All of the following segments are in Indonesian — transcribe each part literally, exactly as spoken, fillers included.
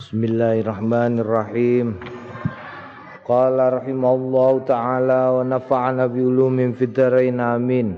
Bismillahirrahmanirrahim. Qala rahimallahu ta'ala wa nafa'ana bi ulumin fid dharain amin.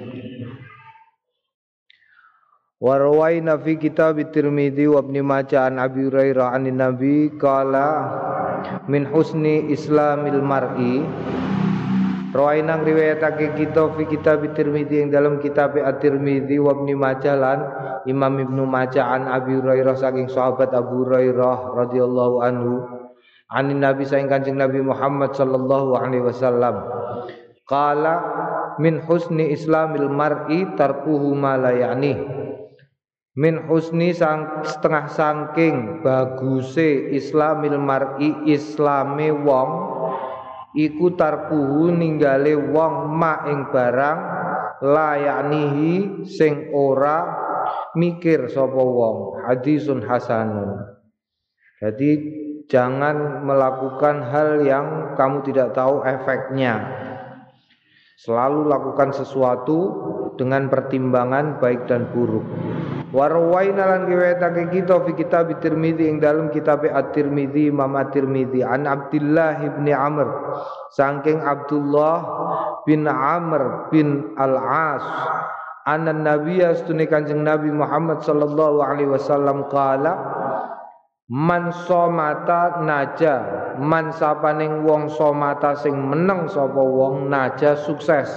Wa rawaina fi kitab Tirmidzi wa Ibnu Majah an Abi Hurairah anin Nabi qala min husni islamil mar'i. Rawaina riwayatake kita fi kitab Tirmidzi ing dalam kitab At-Tirmidzi wa Ibnu Majah lan Imam Ibnu Majah an Abi Hurairah saking sahabat Abu Hurairah radhiyallahu anhu anin Nabi saking Kanjeng Nabi Muhammad sallallahu alaihi wasallam qala min husni islamil mar'i tarkuhu ma la ya'ni. Min husni sang setengah saking baguse islamil mar'i islame wong iku tarkuhu ninggale wong ma ing barang la ya'nihi sing ora mikir sapa wong. Hadisun hasanun. Jadi jangan melakukan hal yang kamu tidak tahu efeknya. Selalu lakukan sesuatu dengan pertimbangan baik dan buruk. Warwaina lan riwayatake kita fi kitab Tirmidzi ing dalam kitab At-Tirmidzi Imam At-Tirmidzi an Abdullah bin Amr saking Abdullah bin Amr bin Al-As anna nabiyya astune Kanjeng Nabi Muhammad sallallahu alaihi wasallam qala man somata naja man sapaning wong somata sing meneng sapa wong naja sukses.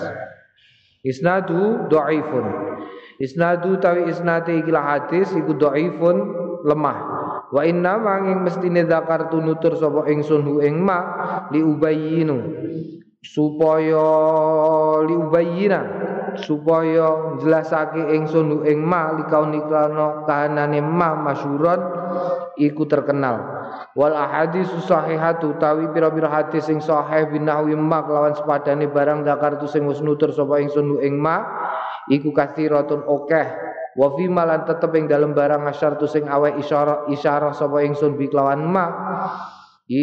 Isnadu dhaifun. Isnadu tawi isnate ikilah hadis iku dhaifun lemah. Wa inna manging mestine zakartu nutur sapa ingsun hu ing ma li ubayyinu supaya li ubayyina supaya jelasake ingsun hu ing ma li kaunikana kahanane ma masyhuron iku terkenal. Wal ahadits sahihatu tawi pira-pira hadis sing sahih binahwi ma lawan sepadane barang zakartu sing wis nutur sapa ingsun hu ing ma iku kathiratun okeh wa fi malan tetep ing dalem barang asyartu sing aweh isyarah isyarah sapa ingsun bi kelawan ma i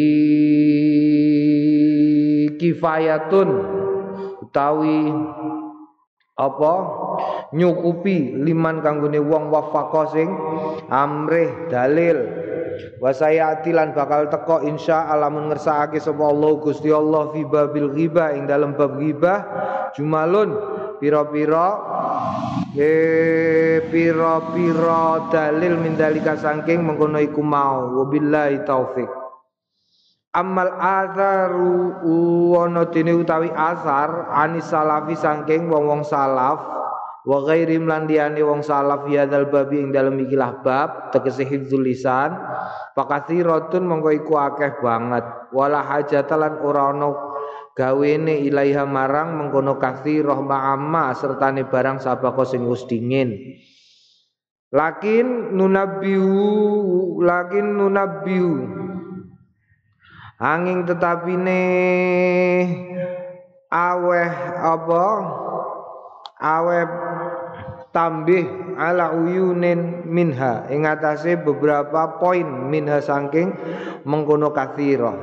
kifayatun utawi apa nyukupi liman kanggone wong wafaqa sing amrih dalil wa sayati lan bakal teko insyaallah mun ngersakake sapa Allah Gusti Allah fi babil ghibah ing dalem bab ghibah jumalun pira-pira eh pira-pira dalil mindalika saking mengkono iku mau wabillahi taufik. Amal atharu ana dene utawi asar anis salafi saking wong-wong salaf wa ghairim lan liyane wong salaf ya dal babi ing dalem ikilah bab tegese hifdzul lisan pakathiratun mongko iku akeh banget wala hajatalan ora ana gawene ilaiha marang mengkono kathirah ma'amma sertane barang sabako sing wis dingin. Lakin nunabbihu lakin nunabbihu angin tetapine aweh apa aweh tambih ala uyunin minha ing atase beberapa poin minha saking mengkono kathirah.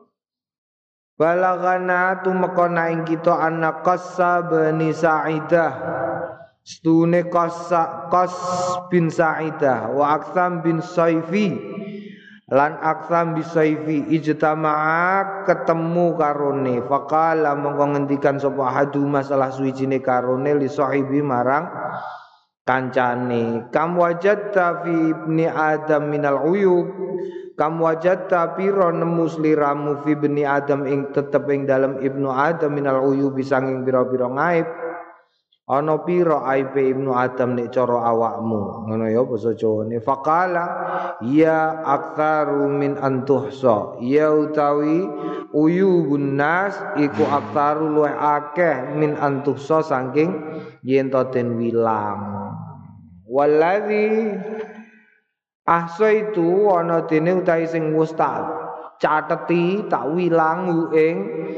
Balagana tumekona ing kita anak Qassa bin Sa'idah stune Qassa Qas bin Sa'idah wa Aktham bin Saifi lan Aktham bin Saifi ijtama'a ketemu karone faqala mongko ngendikan sapa hadu masalah suwijine karone li sahibi marang kancane kam wajadta fi ibni adam minal uyub kam wajadta pira nemu sliramu fi ibni adam ing tetep ing dalem ibnu adam minal uyub sanging pira-pira ngaib ana pira aibe ibnu adam nek cara awakmu ngono ya basa Jawane faqala ya aktsaru min antuhsa ya utawi uyubun nas iku aktsaru luwih akeh min antuhsa saking yen to den wilang. Waladzi ahsaitu ana dene utahe sing wis tak cateti tak wilang ing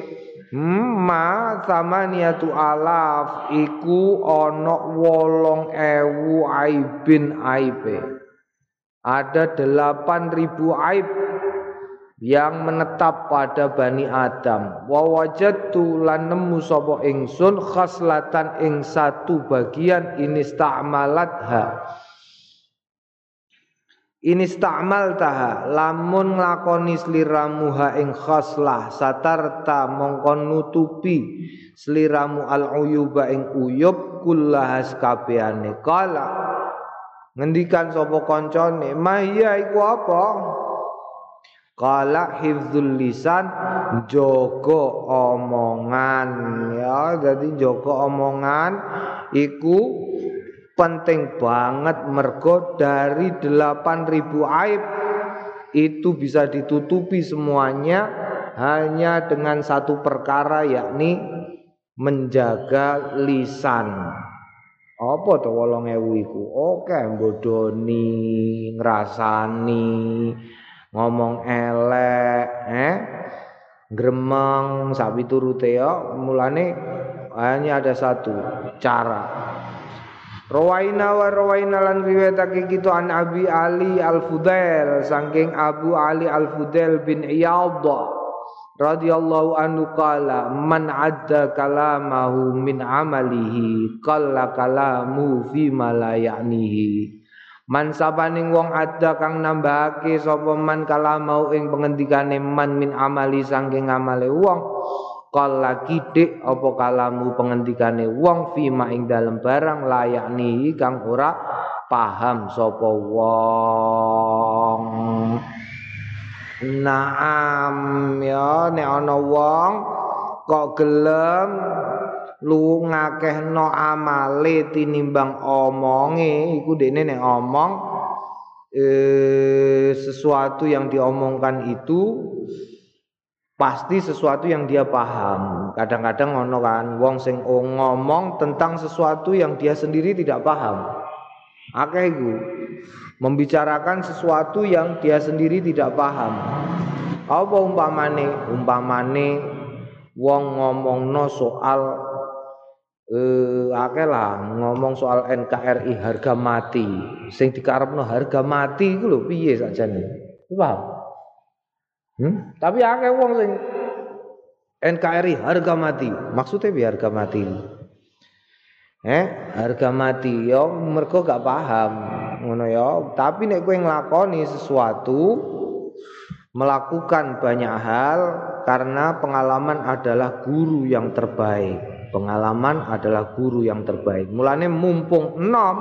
ma samaniatu alaf iku ana wolong ewu aibin aibe. Ada delapan ribu aib yang menetap pada Bani Adam. Wa wajadtu lan nemu sapa ingsun khaslatan ing satu bagian inista'malatha In ista'maltaha lamun nglakoni sliramu ha ing khoslah satarta mongko nutupi sliramu al uyuba ing uyub kullahas kabehane. Kala ngendikan sapa kancane, "Mahya iku apa?" Kala hifdzul lisan, jaga omongan ya. Jadi jaga omongan iku penting banget, mergo dari delapan ribu aib itu bisa ditutupi semuanya hanya dengan satu perkara, yakni menjaga lisan. Apa to wolong ewu iku? Oke, bodoni, ngrasani, ngomong elek, eh, gremeng, sapi turute ya. Mulane hanya ada satu cara. Rawaina wa rawaina lan riwayatake kita an Abi Ali Al-Fudail saking Abu Ali Al-Fudail bin Iyadh radhiyallahu anhu qala man adda kalamahu min amalihi qalla kalamu fi ma la ya'nihi. Man sabaning wong ada kang nambahake sapa man kalamau ing pengendikane man min amali saking amale wong qalla kidik apa kalamu pengendikane wong fima ing dalem barang layak nihi kang ora paham sapa wong. Naam ya, nek ana wong kok gelem lu ngakehno amale tinimbang omonge, iku dekne nek omong eh, sesuatu yang diomongkan itu pasti sesuatu yang dia paham. Kadang-kadang ono kan wong sing ngomong tentang sesuatu yang dia sendiri tidak paham. Akeh iku membicarakan sesuatu yang dia sendiri tidak paham. Apa umpamane? Umpamane wong ngomongno soal eh akeh lah ngomong soal N K R I harga mati. Sing dikarepno harga mati iku lho piye sakjane? Paham? Hmm? Tapi akeh wong sing N K R I harga mati. Maksudnya piye harga mati? Eh, harga mati ya mergo gak paham ngono ya. Tapi nek kowe nglakoni sesuatu, melakukan banyak hal, karena pengalaman adalah guru yang terbaik. Pengalaman adalah guru yang terbaik. Mulane mumpung enom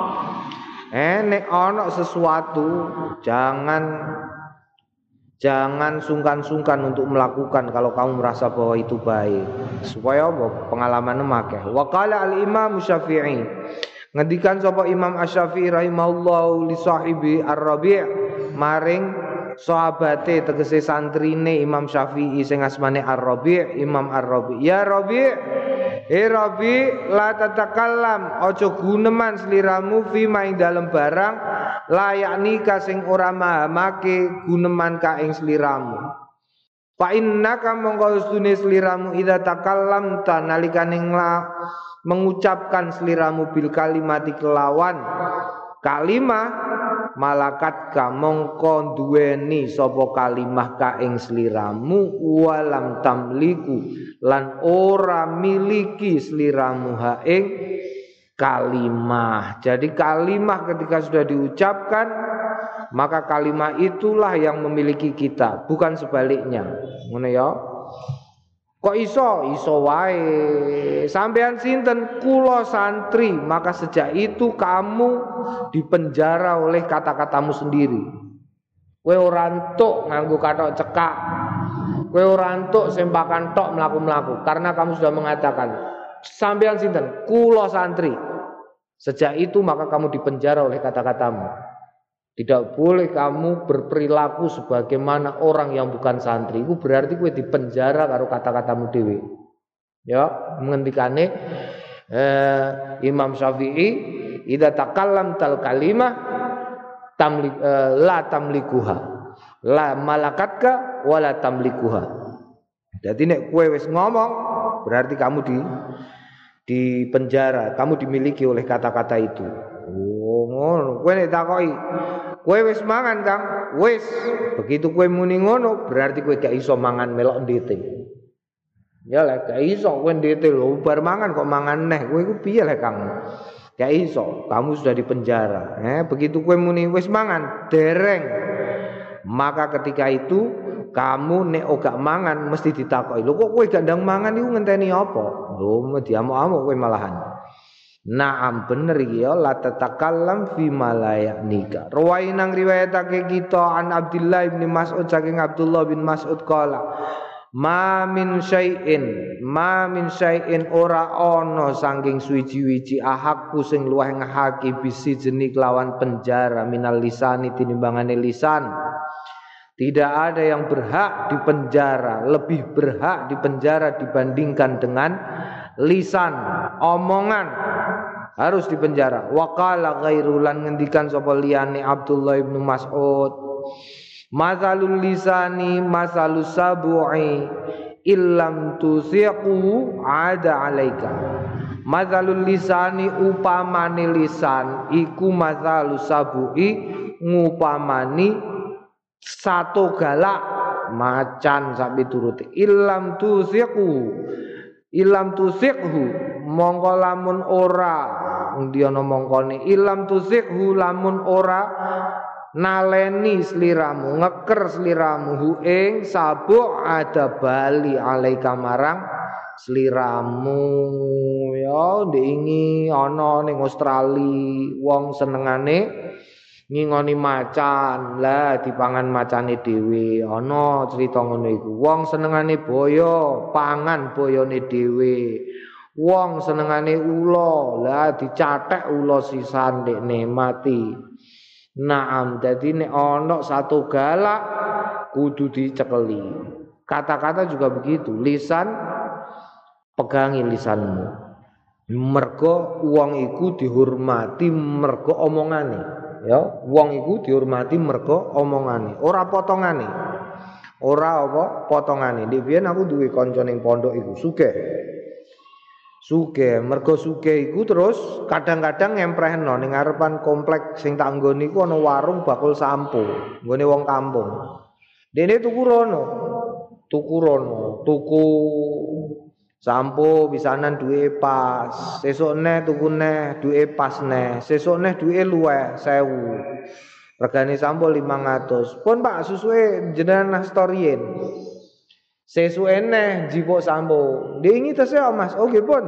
eh nek ana sesuatu jangan Jangan sungkan-sungkan untuk melakukan kalau kamu merasa bahwa itu baik. Supaya apa? Pengalaman akeh. Wa qala al-Imam Syafi'i. Ngendikan sapa Imam Asy-Syafi'i rahimahullahu li sahibi Ar-Rabi' maring sahabate tegese santrine Imam Syafi'i sing asmane Ar-Rabi', Imam Ar-Rabi'. Ya Rabi', eh Rabi' la tatakallam, aja guneman sliramu fi ma ing dalem barang layak nika sing ora mahamake guneman ka ing sliramu. Fa innaka mongko ustune sliramu idza takallamta nalikane mengucapkan sliramu bil kalimati kelawan kalimah malakat ka mongko duweni sapa kalimah ka ing sliramu walam tamliku lan ora miliki sliramu ha ing kalimah. Jadi kalimah ketika sudah diucapkan, maka kalimah itulah yang memiliki kita, bukan sebaliknya. Ngono ya. Kok iso? Iso wae. Sampean sinten? Kula santri. Maka sejak itu kamu dipenjara oleh kata-katamu sendiri. Kowe ora entuk nganggo kathok cekak. Kowe ora entuk sempakan tok mlaku-mlaku karena kamu sudah mengatakan sampean sinten? Kula santri. Sejak itu maka kamu dipenjara oleh kata-katamu. Tidak boleh kamu berperilaku sebagaimana orang yang bukan santri. Itu berarti kowe dipenjara karo kata-katamu dhewe. Ya, mengendikane eh, Imam Syafi'i, idza takallamtal kalimah tamlik eh, la tamlikuha. La malakatka wala tamlikuha. Jadi nek kowe wis ngomong berarti kamu di di penjara, kamu dimiliki oleh kata-kata itu. Oh, ngono. Kowe nek takoki, kowe wis mangan, Kang? Wis. Begitu kowe muni ngono, berarti kowe gak iso mangan melok ndete. Ya lek gak iso kowe ndete lho, bar mangan kok mangan neh. Kowe iku piye lek, Kang? Gak iso, kamu sudah di penjara. Eh, begitu kowe muni wis mangan, dereng. Maka ketika itu kamu nek gak mangan mesti ditakoki. Lho kok kowe gak ndang mangan iku ngenteni apa? Lho diamuk-amuk kowe malahan. Naam bener iki ya la tatakallam fi malayaknika. Ruwai nang riwayatake kita an Abdullah bin Mas'ud saking Abdullah bin Mas'ud qala ma min syai'in ma min syai'in ora ana saking suwiji-wiji ahakku sing luwih ngahaki bisi jenik lawan penjara minal lisani tinimbangane lisan. Tidak ada yang berhak dipenjara, lebih berhak dipenjara dibandingkan dengan lisan, omongan harus dipenjara. Wa qala ghairulan ngendikan sapa liyane Abdullah bin Mas'ud, masalul lisani masalus sabu'i illam tusiqu ada alaika. Masalul lisani upamane lisan iku masalus sabu'i ngupamani satu galak macan sapi turuti ilam tusiqu ilam tusiqhu mongko lamun ora ndiono mongkone ilam tusiqhu lamun ora naleni sliramu ngeker sliramu hu ing sabuk ada bali alaika marang sliramu ya ndingi ana ning Australia wong senengane ngingoni macan lah dipangan macane dhewe ana cerita ngono iku wong senengane boyo pangan boyone dhewe wong senengane ula lah dicathek ula sisan dekne mati. Naam dadi nek ana satu galak kudu dicekeli. Kata-kata juga begitu, lisan pegangi lisanmu mergo wong iku dihormati mergo omongane. Ya, wong iku dihormati mergo omongane, ora potongane. Ora apa potongane. Ndek biyen aku duwe kanca ning pondok iku sugih. Sugih, mergo sugih iku terus kadang-kadang ngemprehno ning ngarepan komplek sing tak nggoni iku ana warung bakul sampo, nggone wong kampung. Dene tuku rono. Tuku rono, tuku sampo pisanan duwe pas, sesuk neh tuku neh duwe pas neh, sesuk neh duwe luweh sewu. Regane sampo limang atus. Pun Pak susuke jenengan nastorien. Sesuke neh jipuk sampo. Ndingi tese Mas. Oh nggih pun.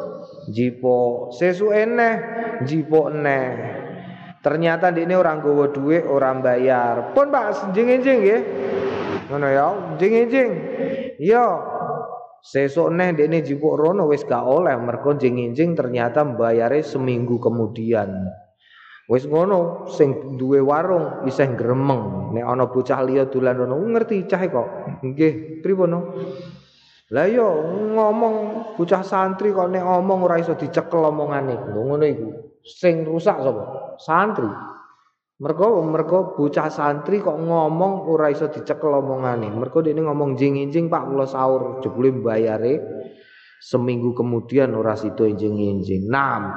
Jipuk. Sesuke neh jipuk neh. Ternyata ndekne ora nggawa dhuwit, ora bayar. Pun Pak jeneng-jeneng nggih. Ngono ya, jeneng-jeneng. Iya. Sesuk neh dekne jipuk rono wis gak oleh mergo njing-njing ternyata mbayare seminggu kemudian. Wis ngono sing duwe warung isih gremeng nek ana bocah liya dolan rono ngerti cah kok. Nggih, pripun? Lah yo ngomong bocah santri kok nek ngomong ora iso dicekel omongane. Lho ngono iku. Sing rusak sapa? Santri. Mergo mergo bocah santri kok ngomong ora iso dicekel omongane. Mergo dekne ngomong jing-jing Pak kula sahur jebule mbayare seminggu kemudian ora sida jing-jing. Naam.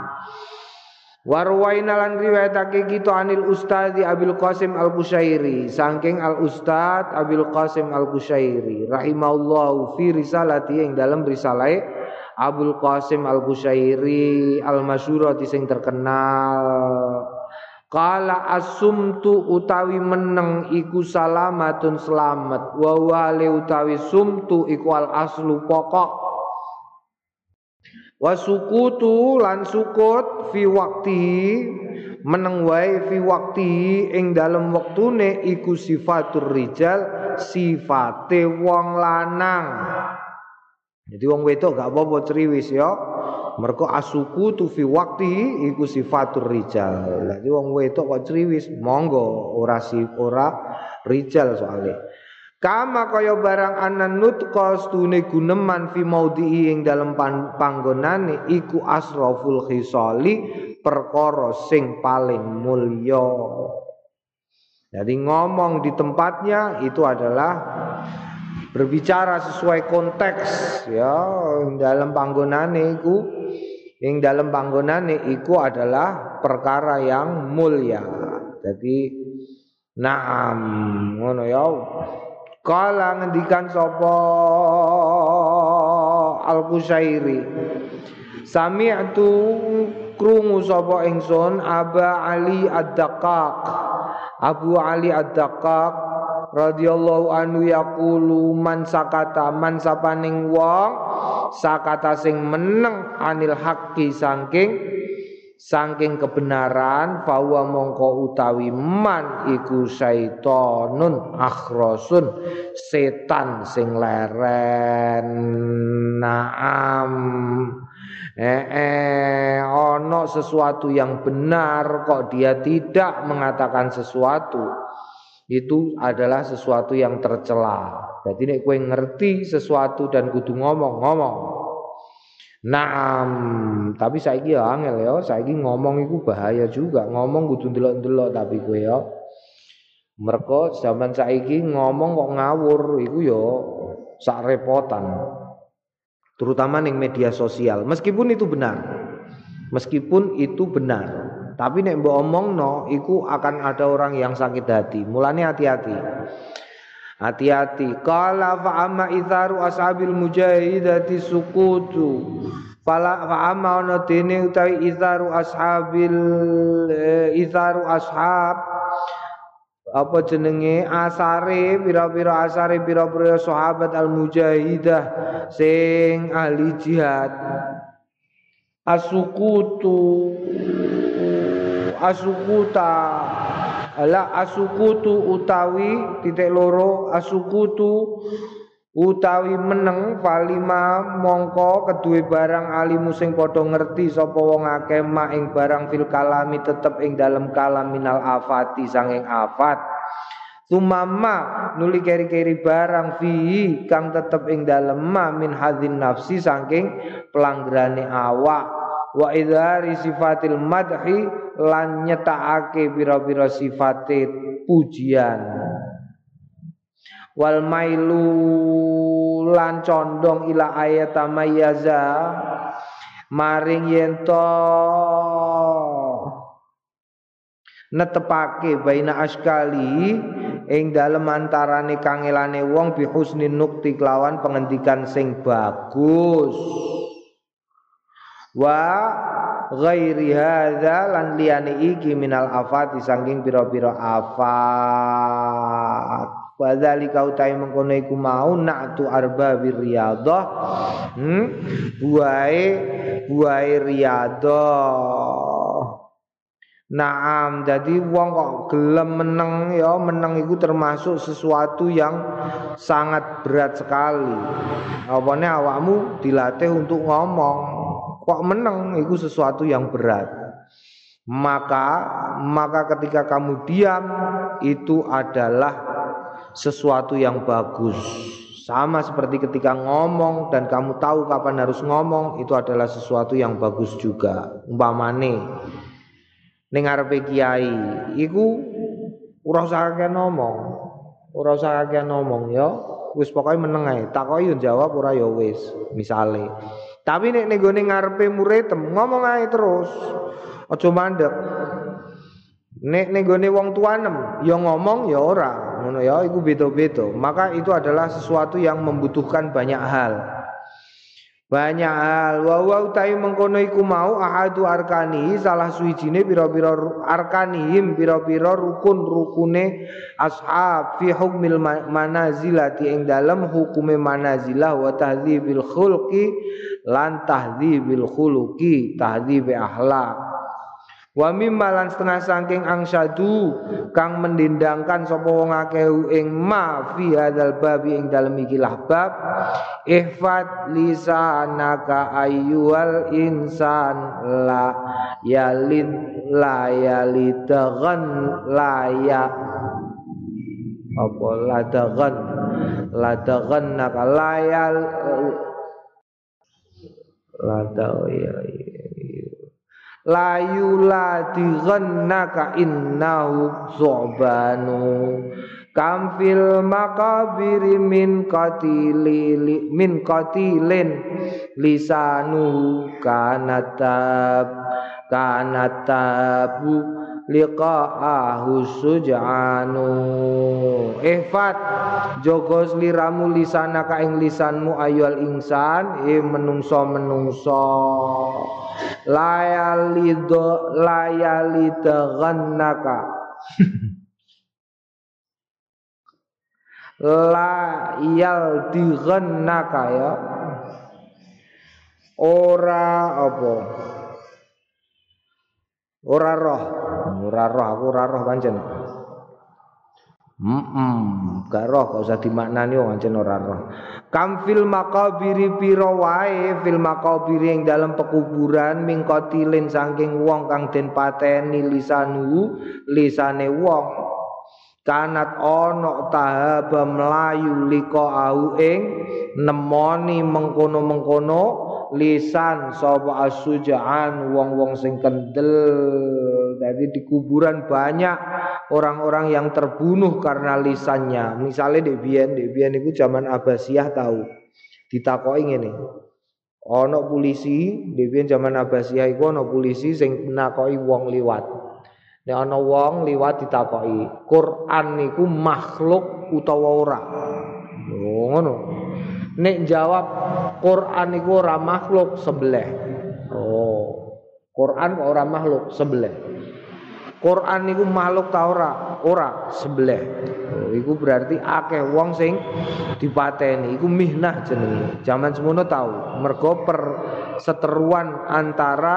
Warwaina lan riwayatake kita anil Ustadz Abil Qasim Al-Qushairi saking Al Ustadz Abil Qasim Al-Qushairi rahimahullahu fi risalati ing dalam risalahe Abul Qasim Al-Qushairi al-masyhurati sing terkenal. Kala asumtu utawi meneng iku salamatun selamat wa wale utawi sumtu iku al aslu pokok wa sukutu lan sukut fi wakti meneng wae fi wakti ing dalem wektune iku sifatur rijal sifate wong lanang. Jadi wong wedok gak apa-apa ceriwis ya. Mergo asuku tu fi wakti iku sifatur rijal. Lagi wong wedok kok ceriwis, monggo ora si ora rijal soalnya. Kama kaya barang anan nutqa stune guneman fi maudhi'i ing dalem panggonane iku asraful khisali perkara sing paling mulya. Jadi ngomong di tempatnya itu adalah berbicara sesuai konteks ya dalam panggonane iku ing dalam panggonane iku adalah perkara yang mulia. Jadi naam ngono ya. Kala ngendikan sapa Al-Qushairi sami'tu krungu sapa ingsun Aba Ali Ad-Daqqaq Abu Ali Ad-Daqqaq radhiyallahu anhu yaqulu man sakata man sapaning wong sakata sing meneng anil haqqi saking saking kebenaran fawa mongko utawi man iku syaitonun akhrosun setan sing leren. Naam eh, eh ono sesuatu yang benar kok dia tidak mengatakan sesuatu, itu adalah sesuatu yang tercela. Jadi nek kowe ngerti sesuatu dan kudu ngomong ngomong. Naam, tapi saiki ya angel ya, saiki ngomong iku bahaya juga. Ngomong kudu ndelok-ndelok tapi kowe ya. Mergo zaman saiki ngomong kok ngawur iku ya sak repotan. Terutama ning media sosial. Meskipun itu benar. Meskipun itu benar, tapi nek mbok omongno iku akan ada orang yang sakit hati. Mulane hati-hati. Hati-hati. Qala fa amma itharu ashabil mujahidati sukutu. Fala fa amma ono dene utawi itharu ashabil eh, itharu ashab apa jenenge asare pira-pira asare pira-pira sahabat al mujahidah sing ahli jihad. Asukutu asukuta ala asukutu utawi titik loro asukutu utawi meneng palima mongko kedue barang alimu sing padha ngerti sapa wong akeh mak ing barang fil kalami tetep ing dalem kalam minal afati sanging afat sumama nuli keri-keri barang fihi kang tetep ing dalem ma min hadzin nafsi saking pelanggerane awak wa idhari sifatil madhi lan nyetakake pira-pira sifate pujian wal mailu lan condong ila ayat mayyaza maring yento netepake baina askali ing dalem antarane kangelane wong bi husnin nukti kelawan pengendikan sing bagus wa ghairi hadza lan liyane iki minal afati saking pira-pira afat wa dzalika utai mengkono iku mau na'tu arbabir riyadhah hmm buahe buahe riyadhah. Naam, jadi wong kok gelem meneng ya, meneng itu termasuk sesuatu yang sangat berat sekali. Apane awakmu dilatih untuk ngomong, kok meneng itu sesuatu yang berat. Maka maka ketika kamu diam itu adalah sesuatu yang bagus. Sama seperti ketika ngomong dan kamu tahu kapan harus ngomong, itu adalah sesuatu yang bagus juga. Umpamane ning ngarepe kiai iku ora usah akeh ngomong. Ora usah akeh ngomong ya. Wis pokoke meneng ae. Takoki yo jawab ora ya wis, misale. Tapi nek ning gone ngarepe murid ngomong ae terus. Aja mandek. Nek ning gone wong tuanem ya ngomong ya ora. Ngono ya iku beda-beda. Maka itu adalah sesuatu yang membutuhkan banyak hal. Banyak hal wa wa utai mengkono iku mau ahadu arkani salah suwijine pira-pira arkanihim pira-pira rukun-rukune ashab fi hukmil manazilati ing dalem hukume manazilah wa tahdzibil khulqi lan tahdzibil khuluqi tahdzib akhlak wa mimma lan setengah saking angsadu kang mendindangkan sapa wong akeh ing ma fi hadzal babi ing dalem iki bab ihfat lisanaka ayyuhal insan la yalid la yalidaghan la ya apa ladaghan ladaghan naka layal ladaw ya layu ladighannaka innahu zu'banu kamfil makabiri min qatili min qatilin lisanu kanatab kanatabu liqa'ahu suj'anu ihfat jogo sliramu lisanaka ing lisanmu ayul insan e menungso-menungso layalido layalidghannaka layal dighannaka ya ora apa ora roh ora roh aku ora roh pancen heeh gak roh gak usah dimaknani wong pancen ora roh kam fil maqabiri pira wae fil maqabiri ing dalam pekuburan mingkotilin saking wong kang den pateni lisanu lisane wong kanat ono tahaba melayu liko au ing nemoni mengkono-mengkono lisan sapa asujaan wong-wong sing kendel. Jadi di kuburan banyak orang-orang yang terbunuh karena lisannya. Misalnya di biyen, di biyen iku zaman Abbasiyah tahu. Ditakoki ngene. Ono polisi, di biyen zaman Abbasiyah iku ono polisi sing nakoki wong liwat. Nek ana wong liwat ditakoki, Quran niku makhluk utawa ora? Oh, ngono. Nek jawab Quran niku ora makhluk sebelah. Oh. Quran kok ora makhluk sebelah. Quran niku makhluk ta ora? Ora sebelah. Oh, iku berarti akeh wong sing dipateni. Iku mihnah jenenge. Zaman semono tahu. Mergo perseteruan antara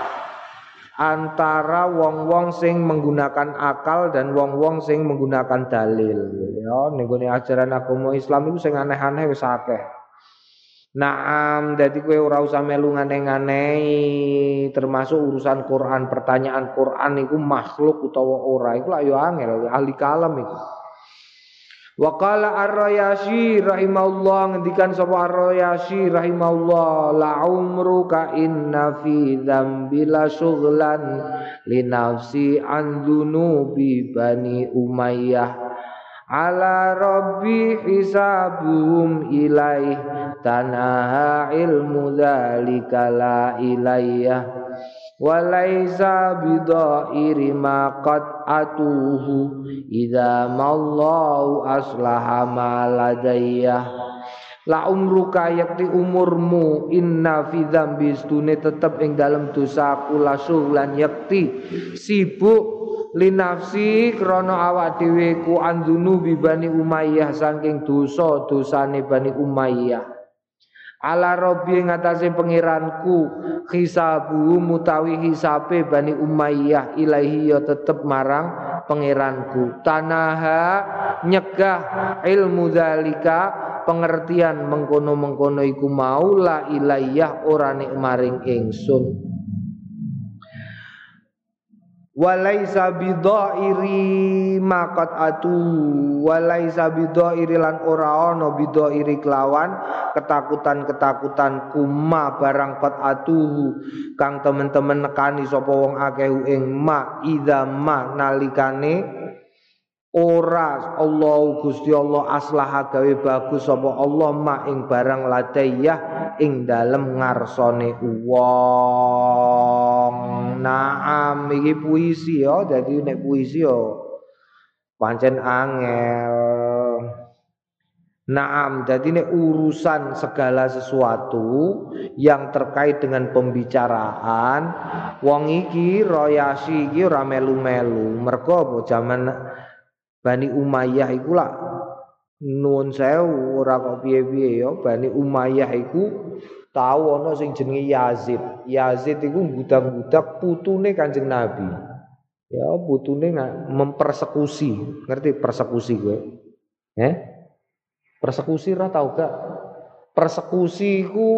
antara wong-wong sing menggunakan akal dan wong-wong sing menggunakan dalil ya ning gone ajaran agama Islam iku sing aneh-aneh wis akeh. Naam dadi kowe ora usah melu nganeh-nganehi termasuk urusan Quran, pertanyaan Quran iku makhluk utawa ora iku lak yo angel ahli kalam iku. Wa qala Ar-Rayashi rahimahullah ngendikan sapa Ar-Rayashi rahimahullah la umruka inna fi dzambi la syughlan li nafsi an dzunubi bani Umayyah ala rabbi hisabuhum ilaih tanaha ilmu dzalika la ilayya walaisa bidairi ma qad atuhu idza mallahu aslaha ma ladayya la umruka yakti umurmu inna fi dzambi stune tetep ing dalem dosaku lasulan yakti sibuk linafsi krana awak dhewe ku andunu bi Bani Umayyah saking dosa dosane Bani Umayyah ala rabbi ngatasé pangeranku hisabu mutawi hisabe Bani Umayyah ilahi ya tetep marang pangeranku tanaha nyegah ilmu zalika pengertian mengkono-mengkono iku mau la ilayah ora nek maring ingsun walaisa bidhairi maqat atu walaisa bidhairi lan ora ana bidhairi kelawan ketakutan-ketakutan kuma barang qat atu kang temen-temen nekani sapa wong akeh ing ma idza ma nalikane ora Allah Gusti Allah aslaha gawe bagus sapa Allah ma ing barang ladayah ing dalem ngarsane wong. Naam iki puisi ya, dadi nek puisi ya pancen angel. Naam, jadi nek urusan segala sesuatu yang terkait dengan pembicaraan wong iki Royasi iki ora melu-melu. Mergo apa zaman Bani Umayyah iku lak nuwun sewu ora kok piye-piye ya. Bani Umayyah iku tahu ana sing jenenge Yazid. Yazid iku budak-budak putune Kanjeng Nabi. Ya putune mempersekusi. Ngerti persekusi kowe? Eh? Persekusi ora tau gak? Persekusi iku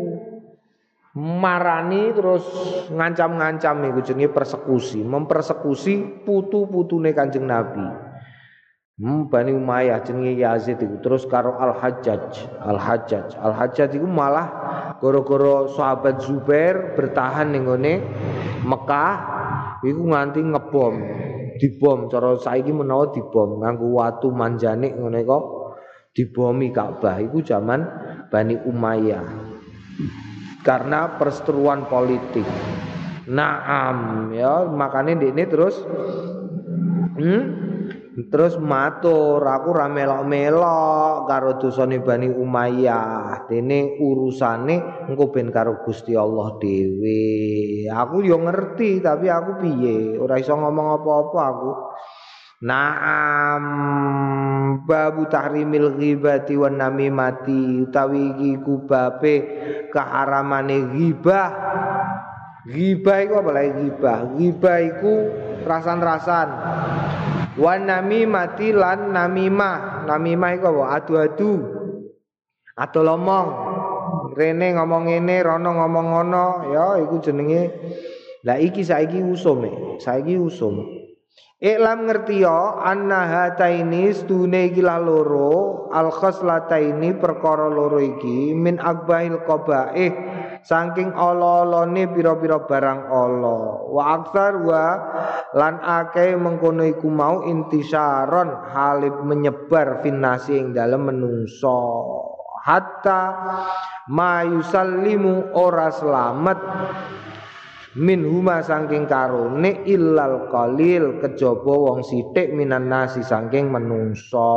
marani terus ngancam-ngancam iku jenenge persekusi. Mempersekusi putu-putune Kanjeng Nabi. Hmm, Bani Umayyah jenenge Yazid iku terus karo Al-Hajjaj. Al-Hajjaj. Al-Hajjaj iku malah gara-gara sahabat Zubair bertahan ning ngene Mekah iku nganti ngebom. Dibom cara saiki menawa dibom nganggo watu manjanik ngene kok dibomi Ka'bah iku zaman Bani Umayyah. Karena perseteruan politik. Naam ya, makane ndekne terus hmm, terus matur aku ra melok-melok karo dosane Bani Umayyah. Dene urusane engko ben karo Gusti Allah dhewe. Aku yo ngerti tapi aku piye? Ora iso ngomong apa-apa aku. Naam babu tahrimil ghibati wan namimati utawi iki kubabe keharamane ghibah. Ghibah iku apa lagi ghibah? Ghibah iku rasan-rasan. Wan namimati lan namimah. Namimah iku apa? Adu-adu. Adu lomong. Rene ngomong ngene, rono ngomong ngono, ya iku jenenge. Lah iki saiki usum e. Saiki usum. Iklam ngerti ya annaha taini stune iki loro al khoslataini perkara loro iki min akbail qabaih saking ala-alane pira-pira barang ala wa aktsar wa lan akeh mengkono iku mau intisaron halib menyebar finnasi ing dalem menungso hatta ma yusallimu ora selamat min huma saking karone illal qalil kejaba wong sithik minan nasi saking menungso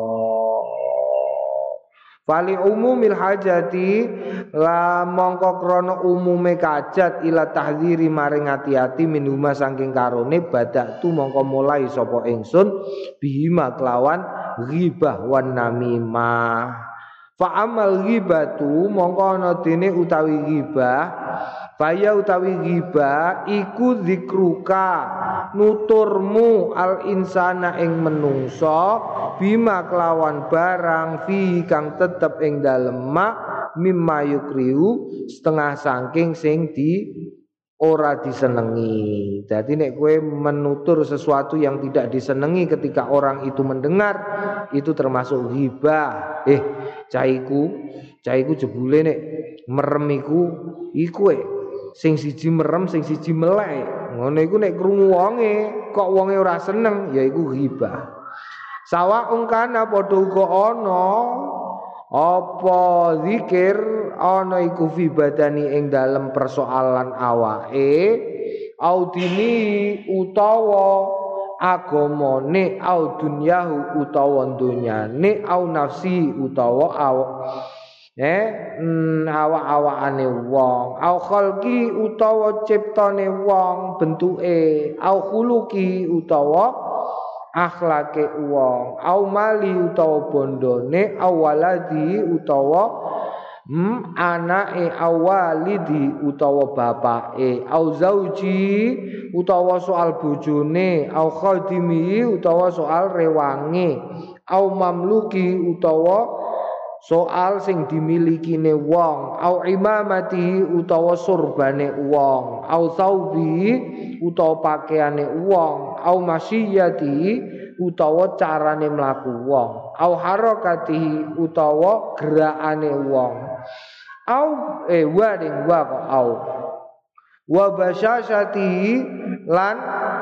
fali umumil hajati la mongko krana umume kajat ila tahdziri maring ati-ati min huma saking karone badaktu mongko mulai sapa ingsun bihima kelawan ghibah wan namimah fa amal ghibatu mongko ana dene utawi ghibah Faya utawi ghibah iku zikruka nuturmu al insana ing menungso bima kelawan barang fi kang tetep ing dalem mak mimma yukriu setengah saking sing di ora disenengi. Jadi nek kowe menutur sesuatu yang tidak disenengi ketika orang itu mendengar itu termasuk ghibah. Eh caiku caiku jebule nek merem iku iku e sing siji merem sing siji melek ngono iku nek krungu wonge kok wonge ora seneng ya iku ghibah sawa ungkana padha uga ana apa zikir ana iku fi badani ing dalem persoalan awake audini utawa agamane au dunyahu utawa dunyane au nafsi utawa awak eh mm, awak-awakane wong au khalqi utawa ciptane wong bentuke au khuluqi utawa akhlake wong au mali utawa bondone au waladi utawa hmm, anake au walidi utawa bapake au zauji utawa soal bojone au khadimi utawa soal rewange au mamluki utawa soal sing dimilikine wong au imamati utawa surbane wong au saubi utawa pakaiane wong au masyiyati utawa carane mlaku wong au harakati utawa gerakane wong au eh wa ding wa kok au wa basyashati lan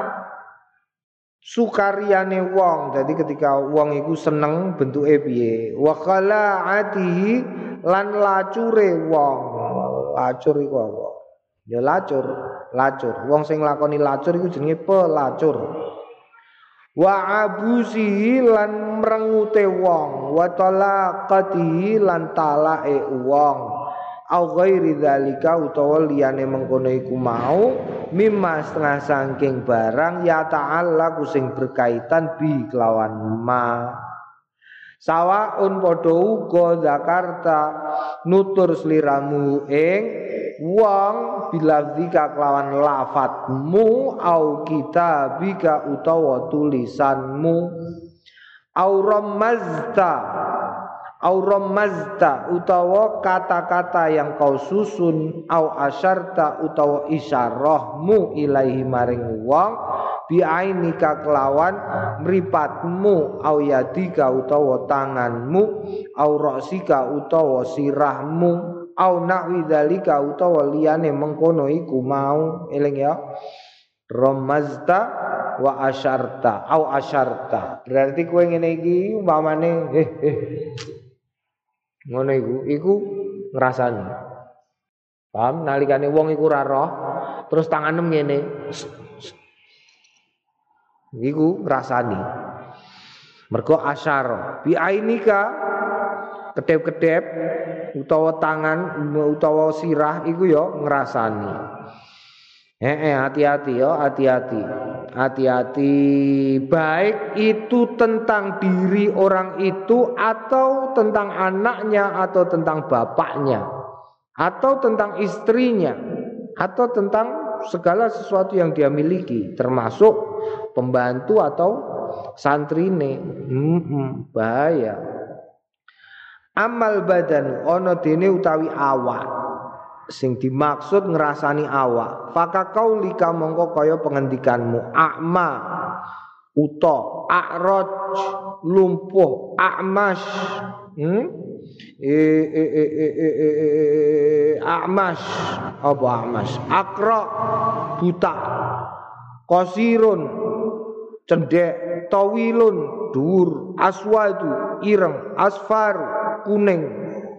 sukariane wong. Jadi ketika wong iku seneng bentuke piye wa khala'atihi lan lacure wong. Lacur iku apa ya lacur lacur wong sing lakoni lacur iku jenenge pelacur wa abusihi lan mrengute wong wa talaqatihi lan talae wong au ghairi dzalika utawa liyane mengkono iku mau mimma setengah saking barang ya ta'ala sing berkaitan bi kelawan ma sawaun padha uga Jakarta nutur sliramu ing wong bilafzika kelawan lafadzmu au kitabika utawa tulisanmu au ramazta au ramazta utawa kata-kata yang kau susun au asyarta utawa isyarahmu ilaihi maring wong biainika kelawan mripatmu au yadika utawa tanganmu au ra'sika utawa sirahmu au nahwi dzalika utawa liyane mengkono iku mau eling ya ramazta wa asyarta au asyarta berarti kowe ngene iki umpamane eh eh ngono iku iku ngrasani paham nalikane wong iku ora roh terus tanganem ngene. Iku ngrasani. Mergo asyara bi ainika kedep-kedep utawa tangan utawa sirah iku ya ngrasani. Eh, eh hati-hati ya, hati-hati. Hati-hati, baik itu tentang diri orang itu atau tentang anaknya atau tentang bapaknya atau tentang istrinya atau tentang segala sesuatu yang dia miliki termasuk pembantu atau santrine. Hmm, bahaya. Amal badan ono dene utawi awak sing dimaksud ngrasani awak faka kaulika mongko kaya pengendikanmu akma uta akraj lumpuh akmas hmm? e, e, e, e, e, e, e, akmas apa akmas akra buta qasirun cendek tawilun dur aswadu ireng asfar kuning.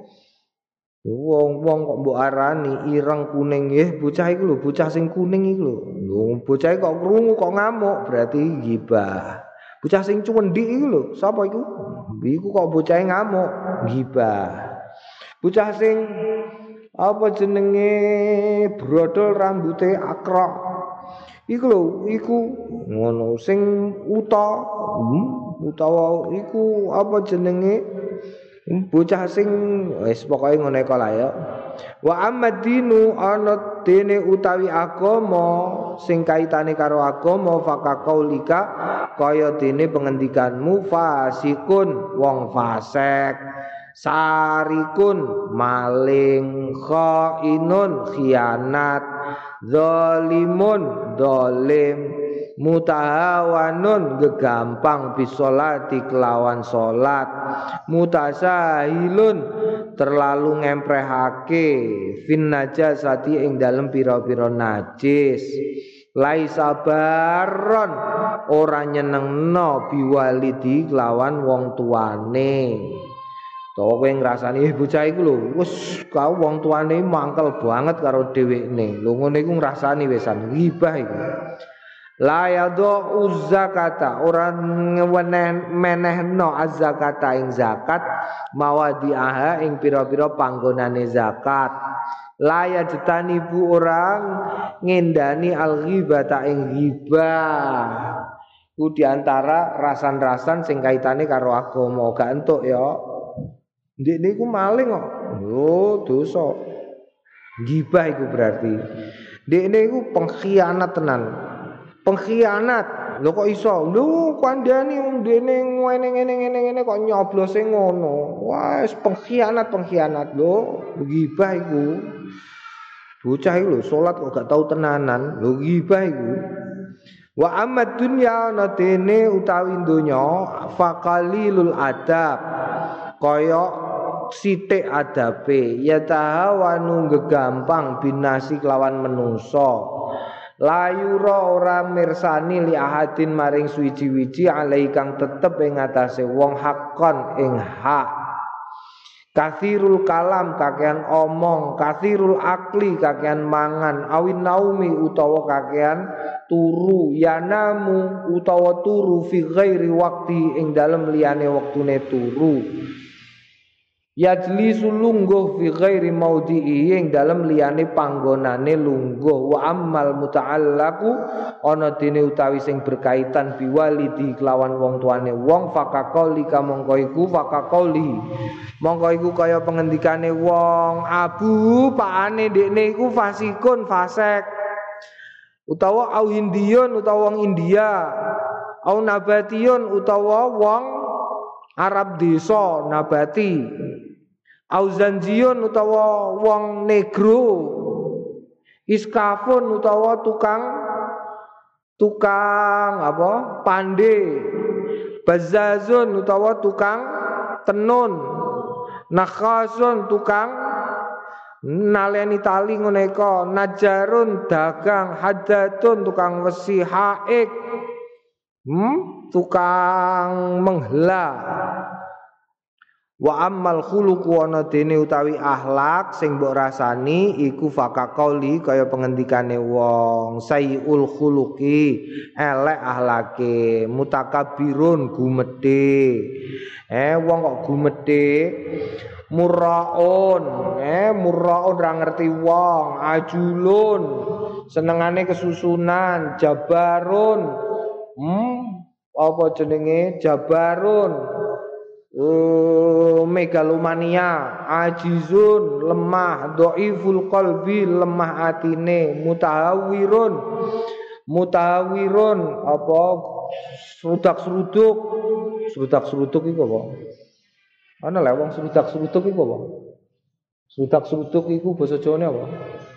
Wong-wong kok mbok arani ireng kuning nggih bocah iku lho bocah sing kuning iku lho. Lho bocah kok krungu kok ngamuk berarti gibah. Bocah sing cuwendik iku lho sapa iku? Iku kok bocah ngamuk gibah. Bocah sing apa jenenge brodol rambuté akrok. Iku lho iku ngono sing uta hmm, utawa iku apa jenenge bocah sing wis pokoke ngene kok lah ya. Wa amadinu ana dene utawi agama sing kaitane karo agama fakaqaulika kaya dene pengendikanmu fasikun wong fasik sarikun maling khainun khianat zalimun zalim mutahawanun gegampang bisolati kelawan solat mutasahilun terlalu ngemprehake fin najasati ing dalem pira-pira najis laisa baron ora nyenengno biwalidi kelawan wong tuane. To kowe ngrasani eh bocah iku lho wis kau wong tuane mangkel banget karo dhewekne. Lho ngene iku ngrasani wisan ghibah iku. La yadhu zakata orang menehno az-zakata ing zakat mawadi'aha ing pira-pira panggonane zakat. La yajtani bu orang ngendani al-ghibata ing ghibah. Ku diantara rasan-rasan sing kaitane karo agama gak entuk ya. Ndek niku maling kok. Lho dosa. Ghibah iku berarti. Ndek niku pengkhianat tenan. Pengkhianat lho kok iso lho kandhani wong dene ngene-ngene-ngene kok nyoblose ngono wah pengkhianat pengkhianat lho ghibah iku bocah iku lho salat kok gak tau tenanan lho ghibah iku wa amad dunya ana dene utawi donya faqalilul adab kaya sithik adabe ya tahawanu gegampang binasi kelawan menungso layura ora mirsani li ahadin maring suwiji-wiji alai kang tetep ing atase wong hakon ing hak kathirul kalam kakean omong kathirul akli kakean mangan awin naumi utawa kakean turu yanamu utawa turu fi ghairi wakti ing dalem liyane wektune turu yajlisu lungguh fi ghairi maudhi'i ing dalem liyane panggonane lungguh wa ammal muta'allaqu ana dene utawi sing berkaitan biwalidi kelawan wong tuane wong fakaqauli kamangka iku fakaqauli mongko iku kaya pengendikane wong abu pakane ndekne iku fasikun fasek utawa au hindiyun utawa wong India au nabatiyun utawa wong Arab desa nabati auzanjion utawa wong negro iskafun utawa tukang tukang apa pande bazazun utawa tukang tenun nakhasun tukang naleni tali ngene ka najarun dagang hadatun tukang wesi haik hmm? tukang menghela Wa ammal khuluqu ana dene utawi akhlak sing mbok rasani iku fakaqauli kaya pengendikane wong sayyul khuluqi elek akhlake mutakabbirun gumedhe eh wong kok gumedhe murraun eh murraun ora ngerti wong ajulun senengane kesusunan jabarun hmm apa jenenge jabarun Uh, megalomania, ajizun, lemah, dhaiful qalbi, lemah atine, mutahawirun, mutahawirun, apa serudak-seruduk, serudak-seruduk iku apa? Ana lek wong serudak-seruduk iku apa? Serudak-seruduk iku basa Jawane apa?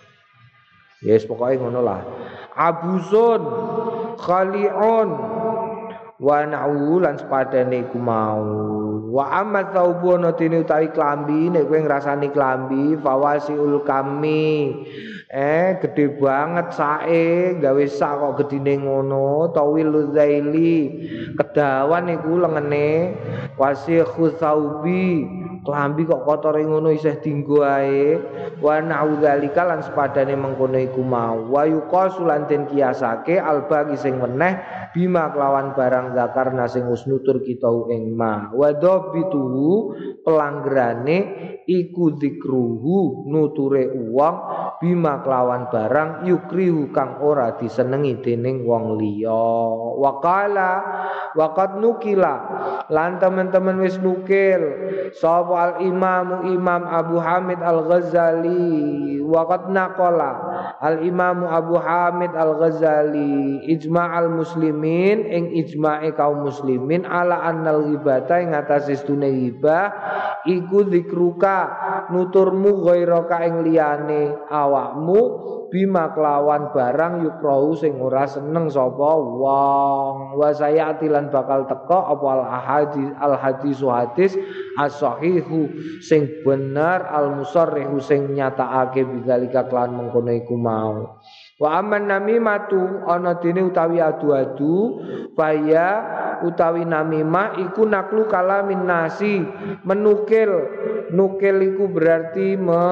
Yes, pokoke ngono lah. Abusun, khali'un, wa na'u lan sepadane iku mau wa amma thawbuna tini utawi klambi nek kowe ngrasani klambi fawasiul kami eh gede banget sae gawe sak kok gedine ngono tawil zaili kedawan iku lengene wasikhu thawbi klambi kok kotore ngono isih dienggo ae wa na'u zalika lan sepadane mengkono iku mau wa yuqasu lan den kiasake albagi sing meneh bima kelawan barang zakarna sing wis nutur kita ing ma wa dhabituhu pelanggerane iku zikruhu nuture wong bima kelawan barang yukrihu kang ora disenengi dening wong liya waqala waqad nukila lan teman-teman wis nukil sapa al imamu imam Abu Hamid al Ghazali waqad naqala al imamu Abu Hamid al Ghazali ijma'al muslimin ing ijma'i kaum muslimin ala annal ghibata ing atase stune ghibah iku zikruka nuturmu ghairaka ing liyane awakmu bima kelawan barang yukrahu sing ora seneng sapa wong wa sayati lan bakal teka apa al ahadits al hadisu hadis as-sahihu sing bener al musarrihu sing nyatakake bidzalika kelan mengkono iku mau wa amman namimatu ana dene utawi adu-adu faya utawi namimah iku naklu kalamin nasi menukil nukil iku berarti me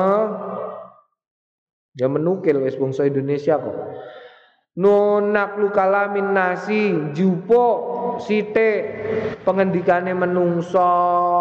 ya menukil wis bangsa Indonesia kok no naklu kalamin nasi jupo sithik pengendikane menungso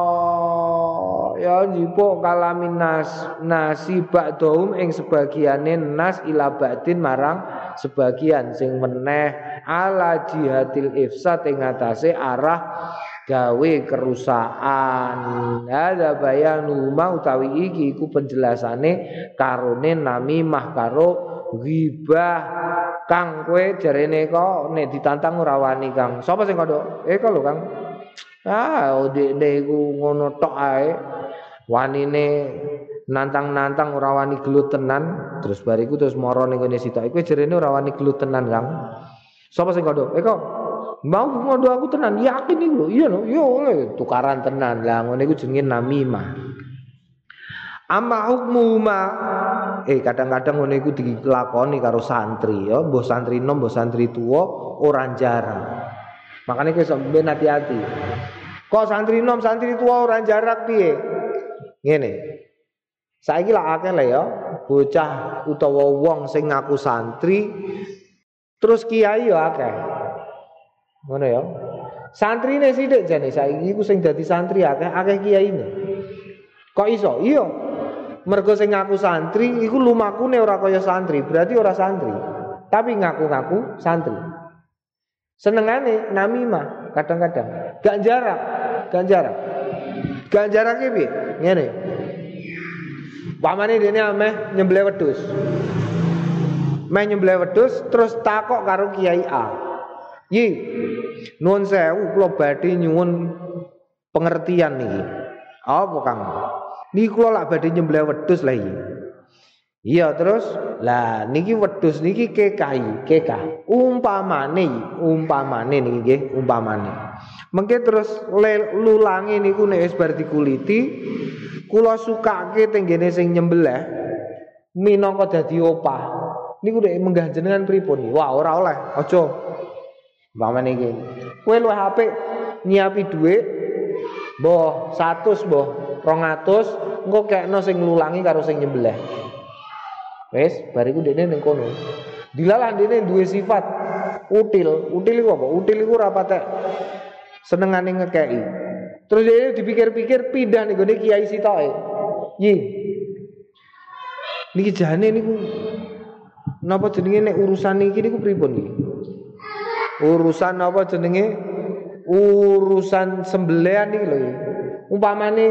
ya jupo kalamin nas nasi ba'dhum ing sebagiane nas ila ba'din marang sebagian sing meneh ala jihadil ifsad ing atase arah gawe kerusakan ada bayanu mau utawi iki iku penjelasane karone namimah karo ghibah kang kowe jarene kok nek ditantang ora wani Kang sapa sing kodok eh kok lho Kang ah ndekne iku ngono tok ae wanine nantang-nantang ora wani gelut tenan terus bariku terus moro ning kene sitok kowe jarene ora wani gelut tenan Kang sapa sing kodok eh kok mau ngondo aku tenan yakin iku lho iya lho yo tukaran tenan lah ngene iku jenenge namimah amma hukmuma eh kadang-kadang ngene iku dilakoni karo santri ya mbah santri nom mbah santri tuwa ora jarang makane kowe sampeyan hati-hati kok santri nom santri tuwa ora jarak piye ngene saiki lak akeh lah ya bocah utawa wong sing ngaku santri terus kiai ya akeh ngono ya. Santrine sithik jane saiki iku sing dadi santri akeh akeh kiyaine. Kok iso? Iya. Mergo sing ngaku santri iku lumakune ora kaya santri, berarti ora santri. Tapi ngaku-ngaku santri. Senengane namimah kadang-kadang. Gak jarak, gak jarak. Gak jarak iki piye? Ngene. Pamane dene ameh nyembelih wedhus. Meh nyembelih wedhus terus takok karo Kiai A. Yi, nuwun sewu kula badhe nyuwun pengertian niki. Apa Kang? Niki kula lak badhe nyembelih wedhus lha iki. Iya terus, lah niki wedhus niki kekai, keka. Umpamane, umpamane niki nggih, umpamane. Mengke terus lulange niku nek wis bar dikuliti, kula sukake tenggene sing nyembelih minangka dadi opah. Niku nek menggah jenengan pripun? Wah, ora oleh, aja. Umpamane iki. Kowe luwih apik nyiapi dhuwit Mbah seratus mbah rong atus engko kekno sing nglulangi karo sing nyembelih. Wis bariku dekne ning kono. Dilalah dekne duwe sifat util. Util iku apa? Util iku ora patek senengane ngekeki. Terus dia dipikir-pikir pindah ning gone kiai sitoke. Yi. Niki jane niku napa jenenge nek urusan iki niku pripun iki? Urusan apa jenenge? Urusan sembelihan iki lho. Umpamane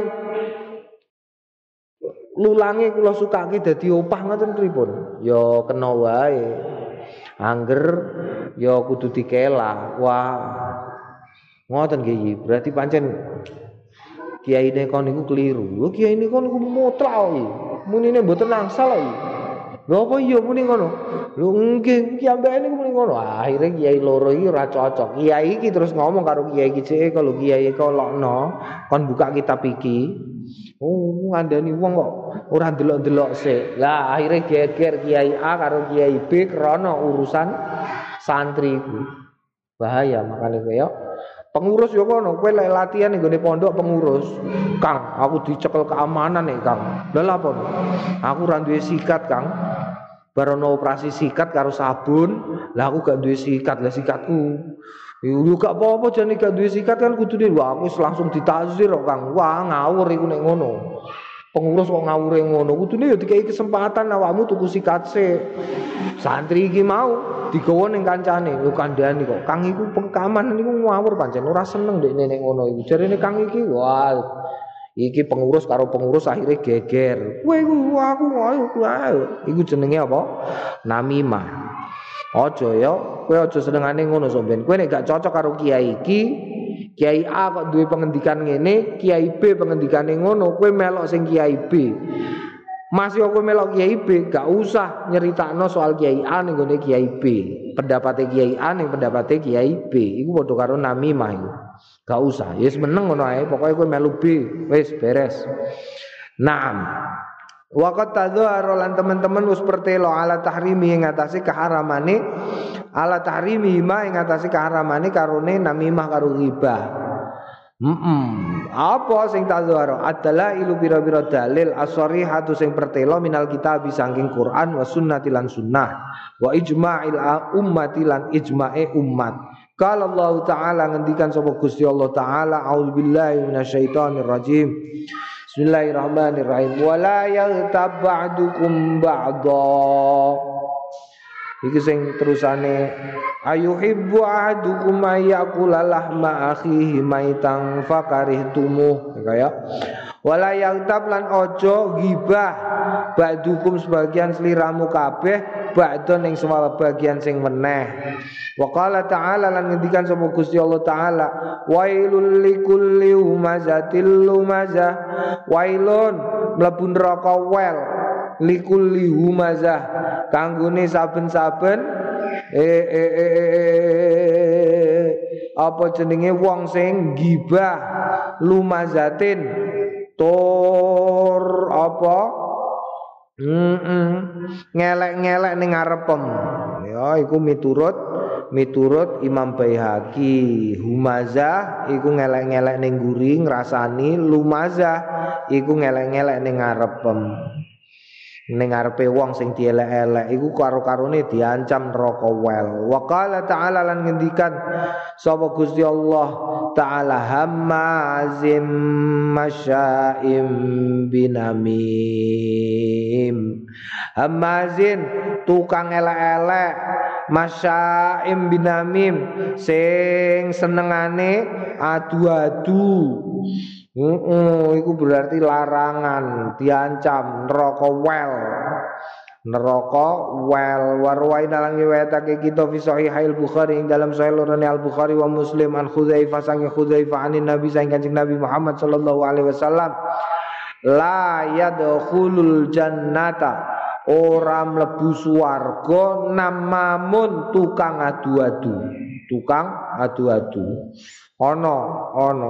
lulange kula sukake dadi opah ngoten pripun? Ya kena wae. Angger ya kudu dikela. Wah. Ngoten nggih. Berarti pancen kiai nek kon niku keliru. Lho kiai niku niku mutlak iki. Munine mboten angsal iki. Lho apa iya muni ngono? Lho nggih ki ambek niku muni ngono. Akhire kiai loro iki ora cocok. Kiai iki terus ngomong karo kiai iki, "Cek kalau kiai kolokno kon buka kitab iki." Oh, ngandani wong kok ora ndelok-ndelok sik. Lah akhire geger kiai A karo kiai B krana urusan santri iku. Bahaya makane kowe pengurus yo kono, kowe lek latihan ning gone pondok pengurus. Kang, aku dicekel keamanan nih, Kang. Lha lha apa? Aku ora duwe sikat, Kang. Barono operasi sikat karo sabun, lah aku gak duwe sikat, lah sikatku. Yo gak apa-apa jane gak duwe sikat kan kudune wah aku langsung ditazir kok, Kang. Wah, ngawur iku nek ngono. Pengurus kok ngawure ngono, kudune yo dikai kesempatan awakmu tuku sikat sik. Santri iki mau digawa ning kancane, lho kandhani kok. Kang iku pengkaman niku ngawur pancen ora seneng dekne nek ngono iku. Jarene Kang iki, wah iki pengurus karo pengurus akhirnya geger. Kowe iku aku ayo ayo. Iku jenenge apa? Namimah. Aja ya, kowe aja senengane ngono sampean. Kowe nek gak cocok karo kiai iki, kiai A kok duwe pengendikan ngene, kiai B pengendikane ngono, kowe melok sing kiai B. Masih aku melok kiai B, gak usah nyeritakno soal kiai A ning gone kiai B. Pendapate kiai A ning pendapate kiai B. Iku padha karo namimah iku. Gak usah. Ya wis meneng ngono ae, pokoke kowe melu B, wis beres. Naam. Waqat tadzahara lan teman-teman wis pertelo ala tahrimi ing atase keharamane ala tahrimi ma ing atase keharamane karone namimah karo ghibah. Heeh. Apa sing tadzahara adalah ilu pira-pira dalil as-sharihatu sing pertelo minal kitab saking Quran wa sunnati lan sunnah wa ijma'il ummati lan ijma'e umat. Qala Allah taala ngendikan sapa Gusti Allah taala a'udzubillahi minasyaitonir rajim. Bismillahirrahmanirrahim. Wala yaghtab ba'dukum ba'dha. Iki sing terusane ayuhibbu ahadukum ayyakula lahma akhihi maitan fakarihtumuh. Kaya wala yaghtab lan ojo ghibah ba'dukum sebagian sliramu kabeh ba'don ing sebagian sing meneh. Wa qala ta'ala lan ngendikan sapa Gusti Allah taala wailul likulli humazatil lumazah. Wailun mlebu neraka wel likulli humazah kanggone saben-saben eh eh eh apa jenenge wong sing gibah lumazatin tur apa heeh ngelek-ngelek ning ngarepem ya iku miturut miturut Imam Baihaqi. Humazah iku ngelek-ngelek ning guri ngrasani, lumazah iku ngelek-ngelek ning ngarepem. Ning ngarepe wong sing dielek-elek iku karo-karone diancam neraka wel. Wa qala ta'ala lan ngendikan sapa Gusti Allah taala hammazim masya'im binamim. Hammazin tukang elek-elek masya'im binamim sing senengane adu-adu. Heeh, iku berarti larangan, diancam neraka wel. Neraka wel warwain lan riwayatake kita fi sahihil Bukhari ing dalam sahih lorone Al Bukhari wa Muslim an Khudzaifah sang Khudzaifah anin Nabi sang Kanjeng Nabi Muhammad sallallahu alaihi wasallam la yadkhulul jannata ora mlebu swarga namamun tukang adu-adu. Tukang adu-adu. Ana, ana.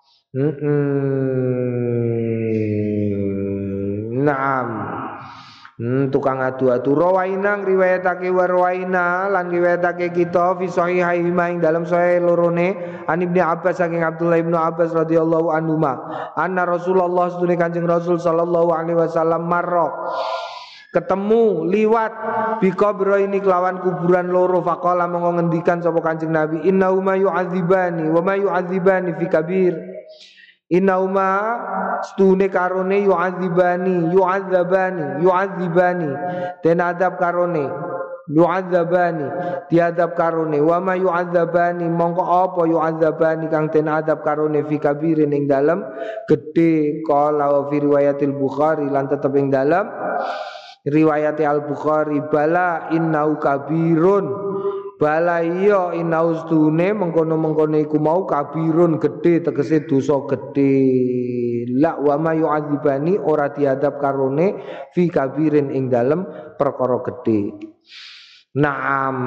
Mm-mm. Naam. Hmm, tukang adu-adu. Rawaina riwayatake warwaina lan riwayatake kita fi sahihaih ing dalam sahih lorone an Ibnu Abbas saking Abdullah Ibnu Abbas radhiyallahu anhu ma anna Rasulullah sunne Kanjeng Rasul sallallahu alaihi wasallam marra ketemu liwat bi qabra ini kelawan kuburan loro faqala monggo ngendikan sapa Kanjeng Nabi innahu ma yu'adzibani wa ma yu'adzibani fi kabir Inauma stune karone yu'adzibani yu'adzabani yu'adzibani den adab karone yu'adzabani diadab karone wa ma yu'adzabani mongko apa yu'adzabani kang den adab karone fi kabirin ing dalem gedhe qala wa fi riwayatil Bukhari lan tetep ing dalem riwayat Al-Bukhari bala innau kabirun bala iya inaustune mengkono-mengkono iku mau kabirun gede tegese dosa gede la wa ma yu'adzibani ora diadab karone fi kabirin ing dalem perkara gede naam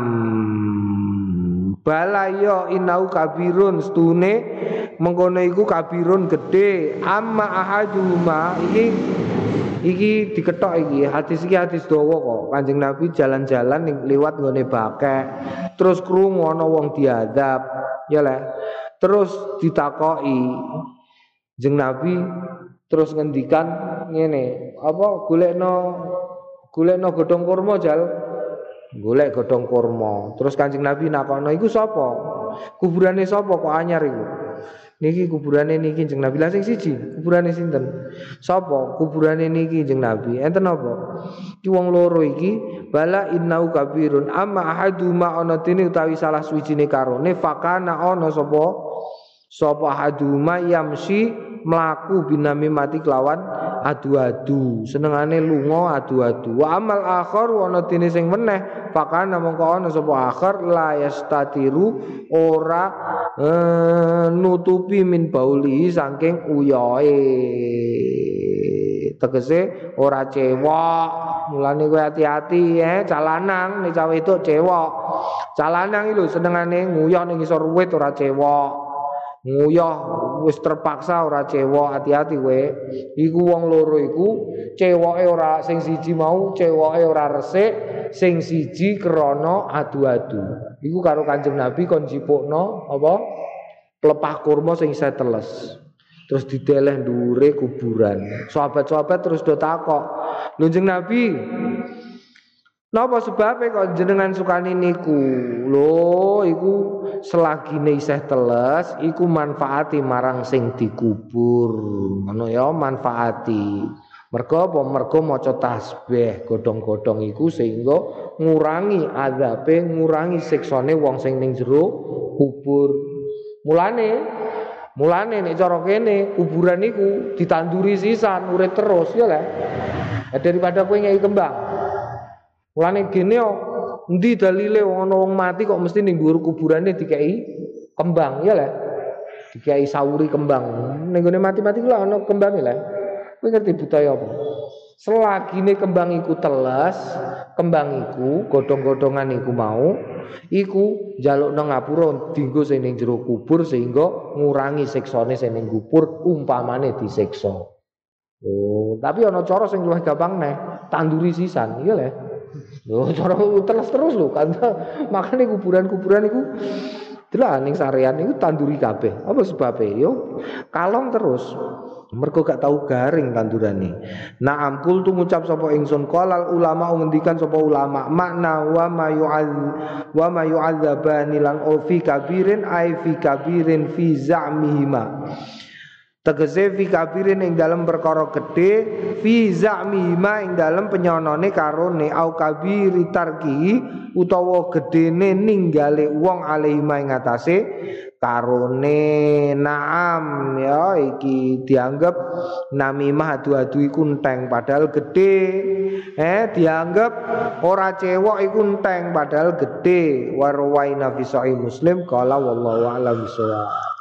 bala iya inau kabirun stune mengkono iku kabirun gede amma ahaduma iki iki diketok iki hadis iki hadis dawa kok Kanjeng Nabi jalan-jalan ning liwat nggone bakek terus krungu ana wong diadab ya le terus ditakoki Kanjeng Nabi terus ngendikan ngene apa golekno golekno godhong kurma jal golek godhong kurma terus Kanjeng Nabi nakono iku sapa kuburane sapa kok anyar iku niki kuburane niki Kanjeng Nabi lah sing siji kuburane sinten sapa kuburane niki Kanjeng Nabi enten apa iki wong loro iki bala innau kabirun amma ahaduma ana dene utawi salah suwijine karone fakana ana sapa sapa ahaduma yamsi mlaku binami mati kelawan adu-adu senengane lunga adu-adu wa amal akhar ana dene sing meneh fakana mongko ana sapa akhir la yastatiru ora e, nutupi min bauli saking uyoe tegese ora cewek mulane kowe hati-hati eh calanang nek cawe itu cewek calanang iki lho senengane nguyah ning isor wit ora cewek nguyah wis terpaksa ora cewek hati-hati kowe iku wong loro iku ceweke ora sing siji mau ceweke ora resik sing siji krana adu-adu iku karo Kanjeng Nabi kon jipukno apa pelepah kurma sing isih teles terus dideleh ndure kuburan sahabat-sahabat terus do takok lho Kanjeng Nabi napa sebabe kok jenengan sukani niku lho iku selagine isih teles iku manfaati marang sing dikubur ngono ya manfaati mergo apa mergo maca tasbih godhong-godhong iku sehingga ngurangi azabe ngurangi siksane wong sing ning jero kubur mulane mulane nek cara kene kuburan iku ditanduri sisan urip terus ya lah daripada kowe ngeki kembang mulane gene yo endi dalile ana wong mati kok mesti ning dhuwur kuburane dikeki kembang ya lah dikeki sauri kembang ning gone mati-mati ku ana kembange lah kowe ngerti budaya apa selagine kembang iku teles kembang iku godhong-godhongan iku mau iku njalukno ngapura dienggo sing ning jero kubur sehingga ngurangi siksane sing ning kubur umpamane disiksa oh tapi ana cara sing luwih gampang neh tanduri sisan iya lah lho cara terus terus lho kan makane kuburan-kuburan iku delok ning sarean iku tanduri kabeh apa sebabe yo kalong terus mergo gak tau garing tandurane na'am kul tu ngucap sapa ingsun qalal ulama ngendikan sapa ulama makna wa ma yu'adz wa ma yu'adzabani lan fi kabirin ai fi kabirin fi za'mihima tegese fi kabirin ing dalam perkara gedhe fi za'mihima ing dalam penyonone karone au kabiri tarki utawa gedene ninggale wong alihima ing atase karone naam ya iki dianggap namimah adu-adu iku enteng padahal gedhe eh dianggap ora cewek iku enteng padahal gedhe warwaina fi sahih Muslim qala wallahu a'lam bissawab.